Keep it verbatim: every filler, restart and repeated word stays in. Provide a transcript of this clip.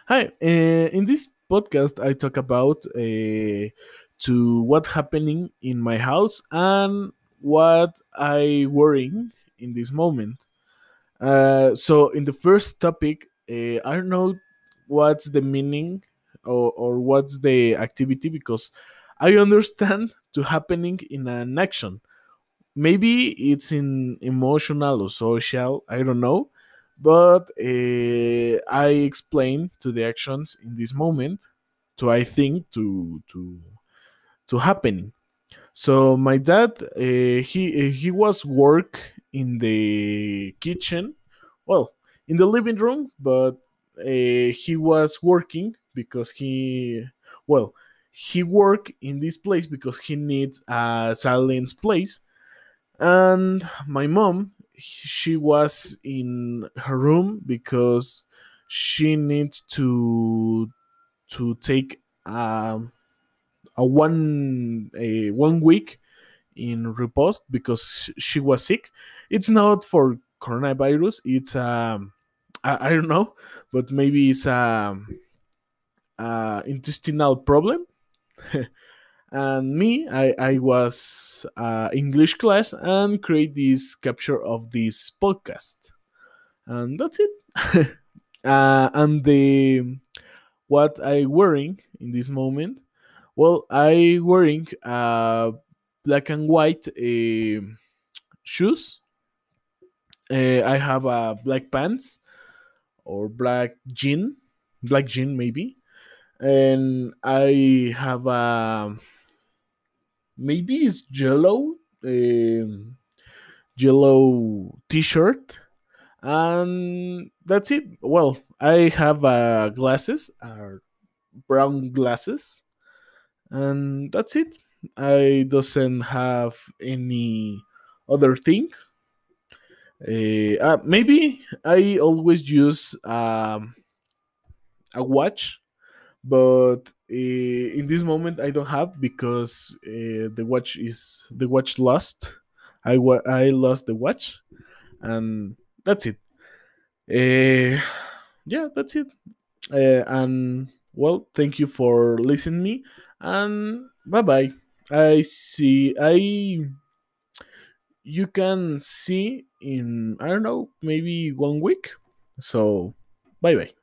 Hi, uh, in this podcast, I talk about uh, to what happening in my house and what I worrying in this moment. Uh, so, in the first topic, uh, I don't know what's the meaning or, or what's the activity because I understand to happening in an action. Maybe it's in emotional or social, I don't know, but uh, I explain to the actions in this moment to I think to to to happening. So my dad, uh, he he was work in the kitchen, well, in the living room, but uh, he was working because he, well, he work in this place because he needs a silence place. And my mom, she was in her room because she needs to to take um, a one a one week in repose because she was sick. It's not for coronavirus, it's um i, I don't know, but maybe it's a, a intestinal problem. And me, i i was uh, english class and create this capture of this podcast, and that's it. uh, and the what I wearing in this moment, well, I wearing uh black and white uh, shoes. uh, I have a black pants or black jean, black jean maybe, and I have a, maybe it's yellow, um, yellow t-shirt, and that's it. Well, I have uh, glasses, uh, brown glasses, and that's it. I doesn't have any other thing. Uh, uh, maybe I always use um, a watch, but uh, in this moment I don't have because uh, the watch is the watch lost. I wa- I lost the watch, and that's it. Uh, yeah, that's it. Uh, and well, thank you for listening me, and bye bye. I see. I You can see in, I don't know, maybe one week. So bye bye.